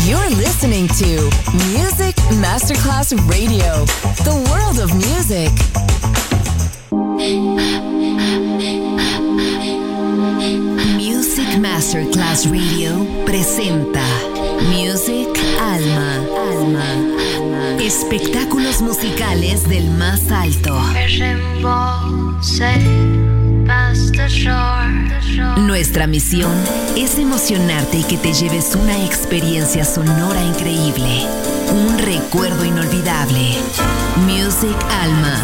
You're listening to Music Masterclass Radio, the world of music. Music Masterclass Radio presenta Music Alma. Espectáculos musicales del más alto. Nuestra misión es emocionarte y que te lleves una experiencia sonora increíble, un recuerdo inolvidable. Music Alma.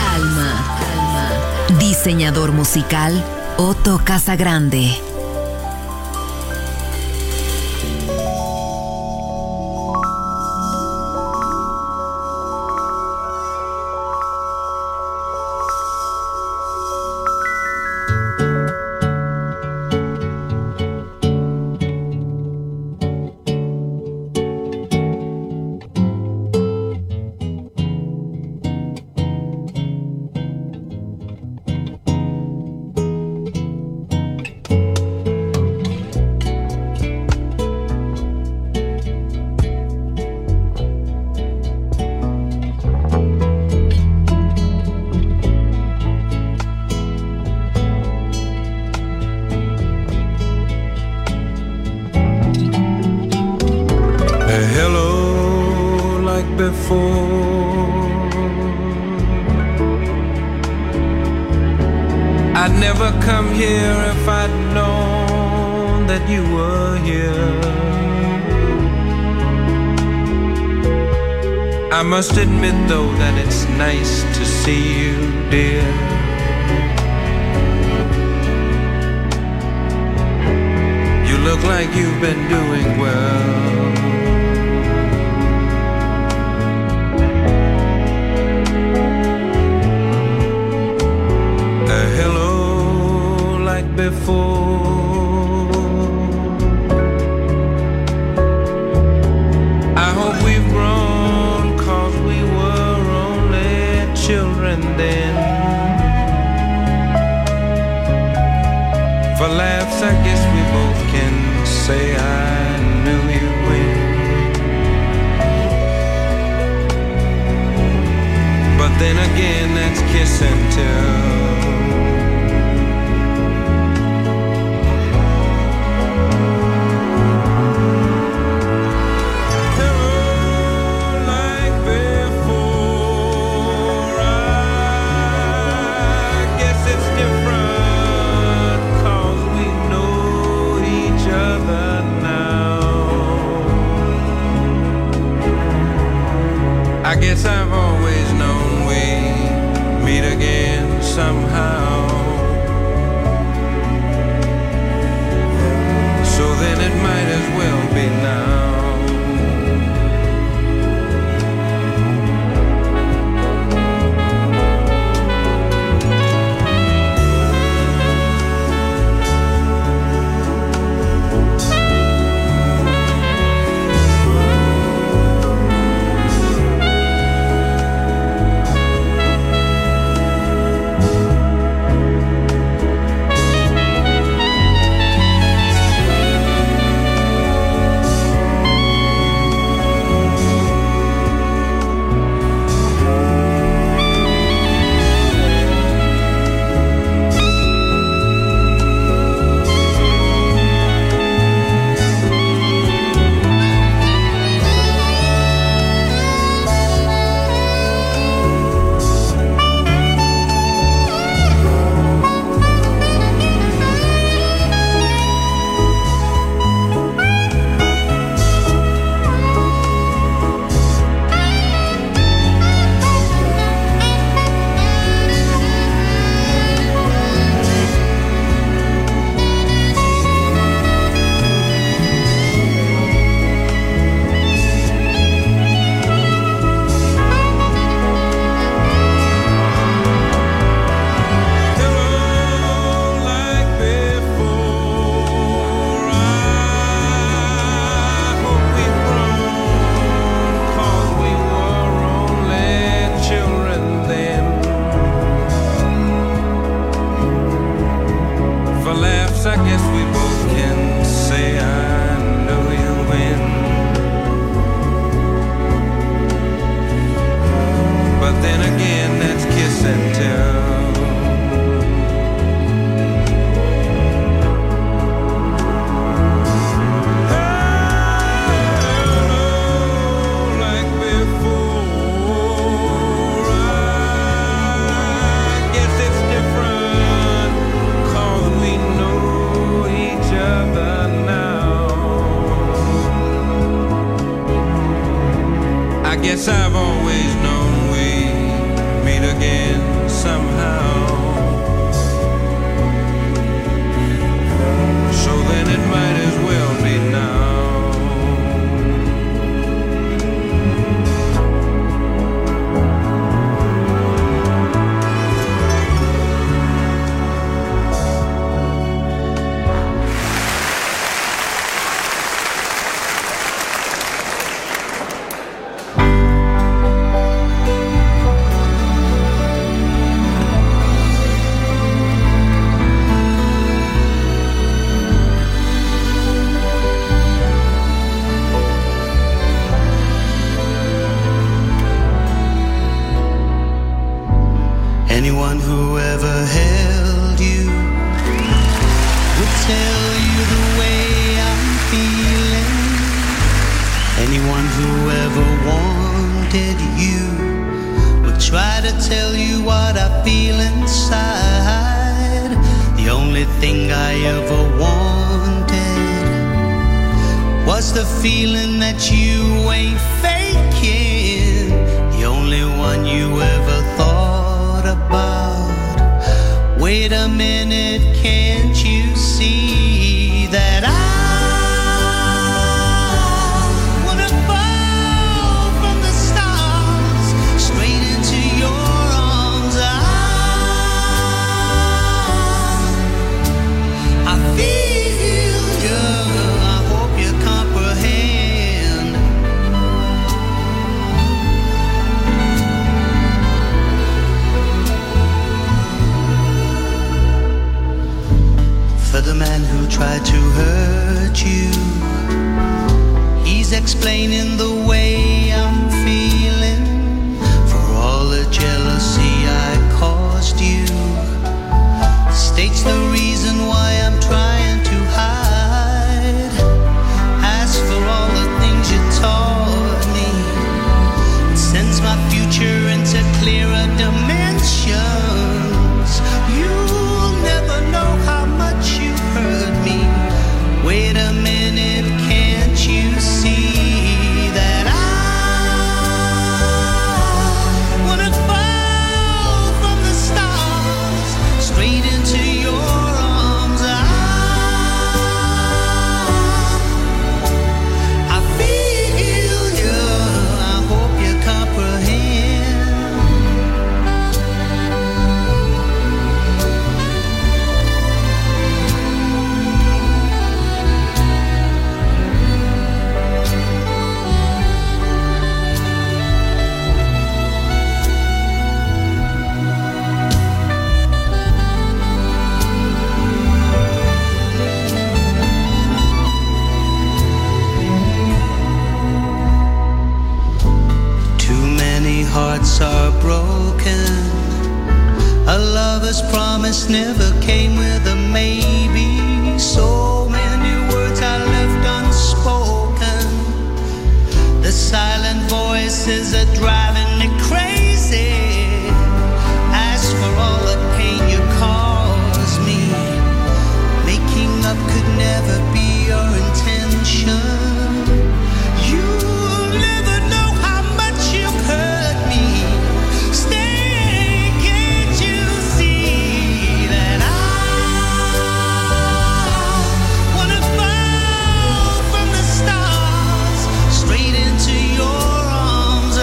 Diseñador musical Otto Casagrande. I must admit though that it's nice to see you, dear. You look like you've been doing well. A hello like before. I hope we've grown, children then. For laughs I guess we both can say I knew you when. But then again that's kiss and tell. Different, 'cause we know each other now. guess I've always known we'd meet again somehow. So then it might as well be now. Anyone who ever held you would tell you the way I'm feeling. Anyone who ever wanted you would try to tell you what I feel inside. The only thing I ever wanted was the feeling that you ain't faking. The only one you ever thought about. Wait a minute, can't you see that I wanna fall from the stars straight into your arms? I feel you, I hope you comprehend. For the man who tried to hurt you, he's explaining the way I'm feeling. For all the jealousy I caused you, states the reason why I'm trying to hide. As for all the things you taught me, it sends my future into clearer dimensions. You'll never know how much you hurt me. Wait a minute, can't you see that I wanna fall from the stars straight into your arms? I feel you, I hope you comprehend. Too many hearts are broken. A lover's promise never came with a maybe. So many words I left unspoken. The silent voices are driving me crazy. As for all the pain you caused me, making up could never be your intention. You'll never know how much you hurt me. Stay, can't you see that I wanna fall from the stars straight into your arms?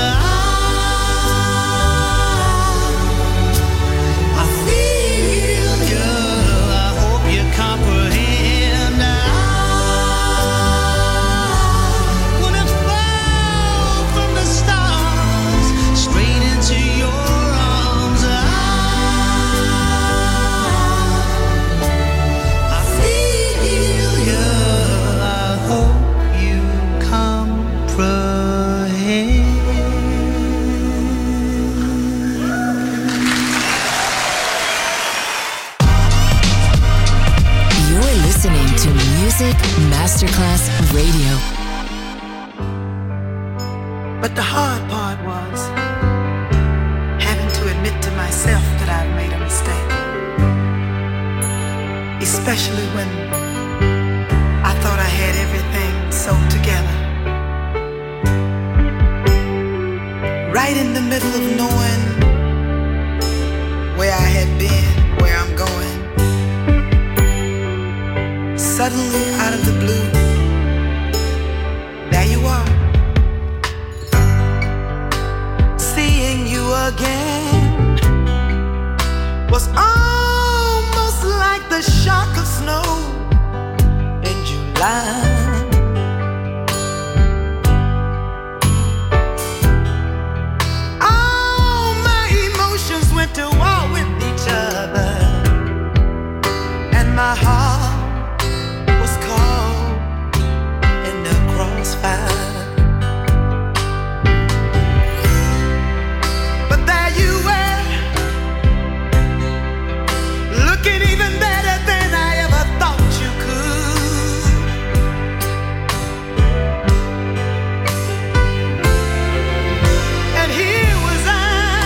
I feel you, I hope you comprehend. I wanna fall from the stars straight into your arms. I feel you, I hope you comprehend. You're listening to Music Masterclass Radio. But the hard part was having to admit to myself that I've made a mistake. Especially when I thought I had everything sewn together. middle of knowing where I had been, where I'm going. Suddenly, out of the blue, there you are. Seeing you again was almost like the shock of snow in July. To war with each other, and my heart was caught in the crossfire. But there you were, looking even better than I ever thought you could. And here was I,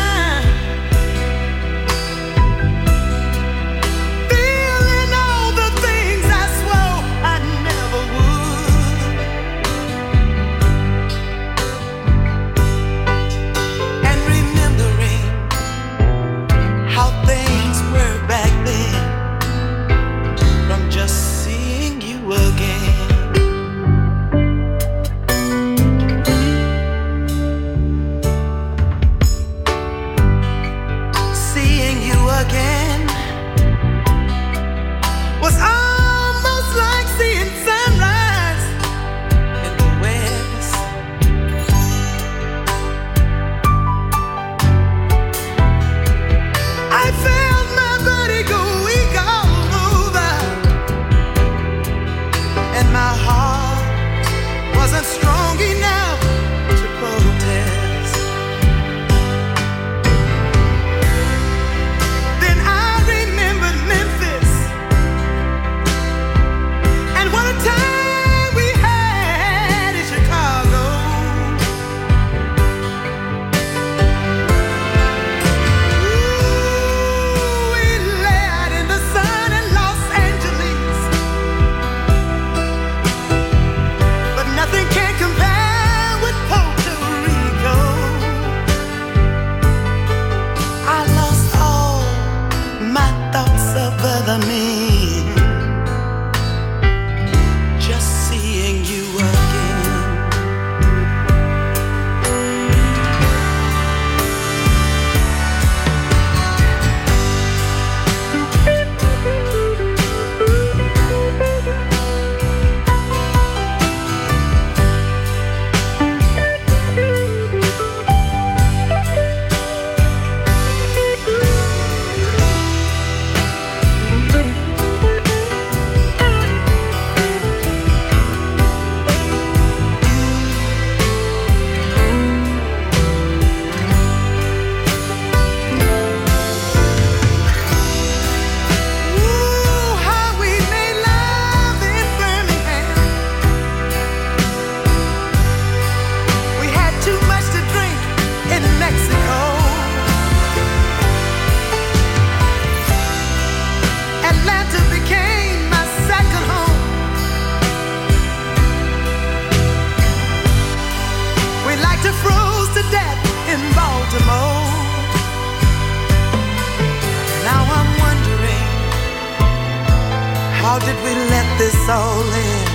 how did we let this all in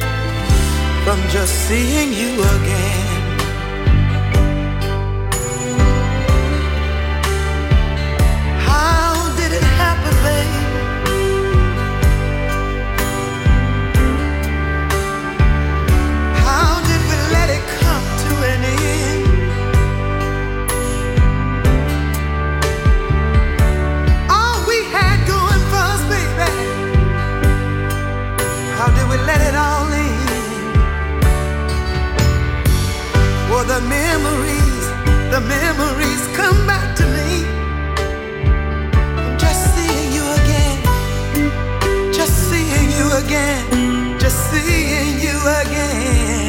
from just seeing you again? How did it happen, babe? How did we let it come to an end? All we had going for us, baby, how did we let it all in? Well, the memories come back to me. I'm just seeing you again, just seeing you again, just seeing you again.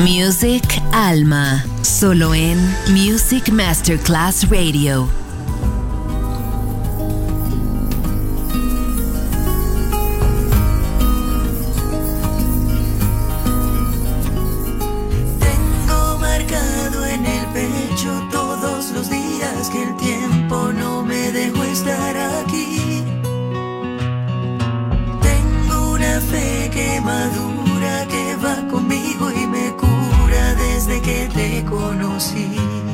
Music Alma, solo en Music Masterclass Radio. Tengo marcado en el pecho todos los días que el tiempo no me dejó estar aquí. Tengo una fe que madura, que va conmigo y me cura desde que te conocí.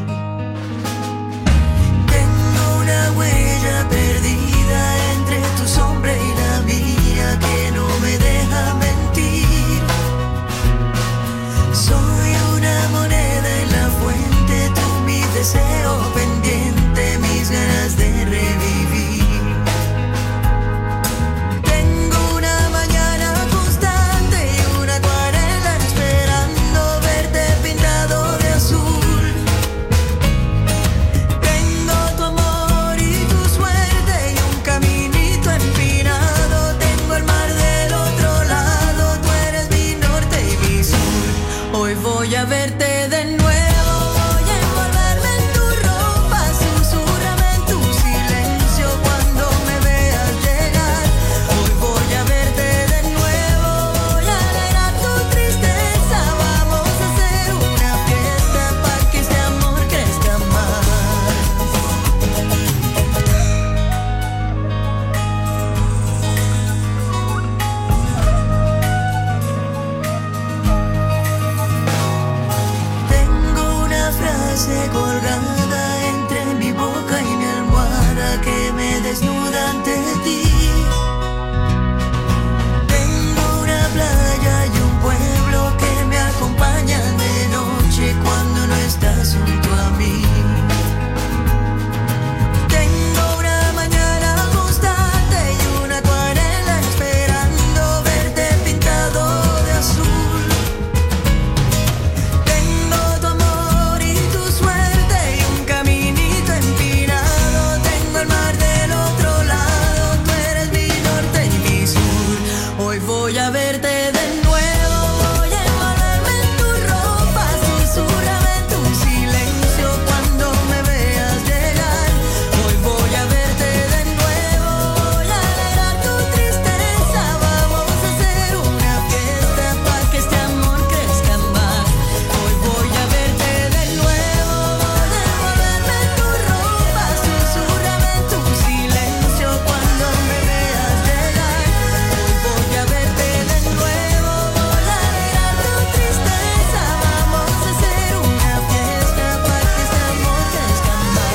Tengo una huella perdida entre tu sombra y la mía que no me deja mentir. Soy una moneda en la fuente, tú mi deseo pendiente, mis ganas de revivir. Tengo una mañana constante y una acuarela esperando verte pintado de azul. Tengo tu amor y tu suerte y un caminito empinado. Tengo el mar del otro lado, tú eres mi norte y mi sur. Hoy voy a verte de nuevo. Colgada entre mi boca y mi almohada que me desnuda ante ti. Tengo una playa y un pueblo que me acompañan de noche cuando no estás junto a mí. Tengo una mañana constante y una acuarela esperando verte pintado de azul. Voy a verte de nuevo, voy a envolverme en tu ropa, susurrame en tu silencio cuando me veas llegar. Hoy voy a verte de nuevo, voy a alegrar tu tristeza. Vamos a hacer una fiesta para que este amor crezca más. Hoy voy a verte de nuevo, voy a envolverme en tu ropa, susurrame en tu silencio cuando me veas llegar. Hoy voy a verte de nuevo, voy a alegrar tu tristeza. Vamos a hacer una fiesta para que este amor crezca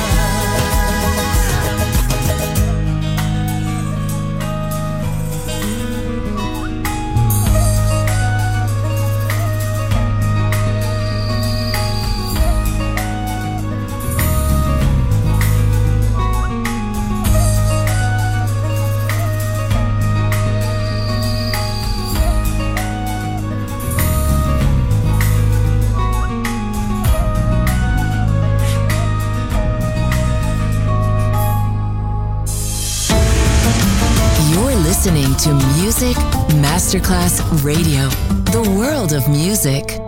You're listening to Music Masterclass Radio, the world of music.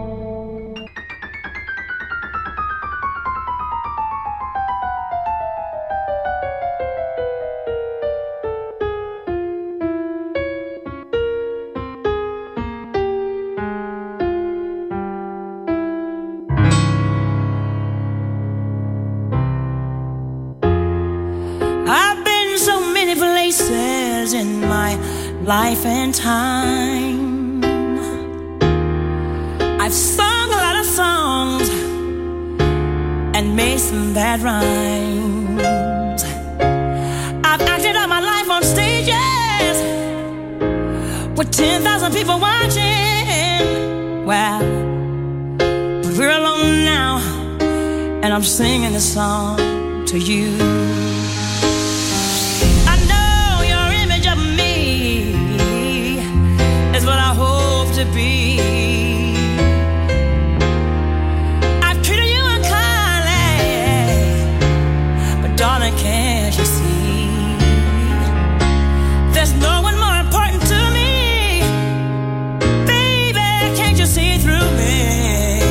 I've been so many places in my life and time. I've sung a lot of songs and made some bad rhymes. I've acted out my life on stages with 10,000 people watching. Well, but we're alone now, and I'm singing this song to you. What I hope to be. I've treated you unkindly, but darling, can't you see? There's no one more important to me. Baby, can't you see through me?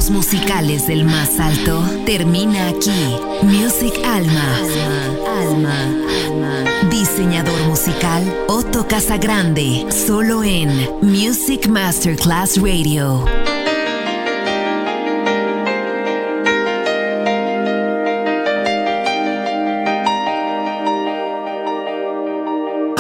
éxitos musicales del más alto termina aquí. Music Alma. Diseñador musical Otto Casagrande, solo en Music Masterclass Radio.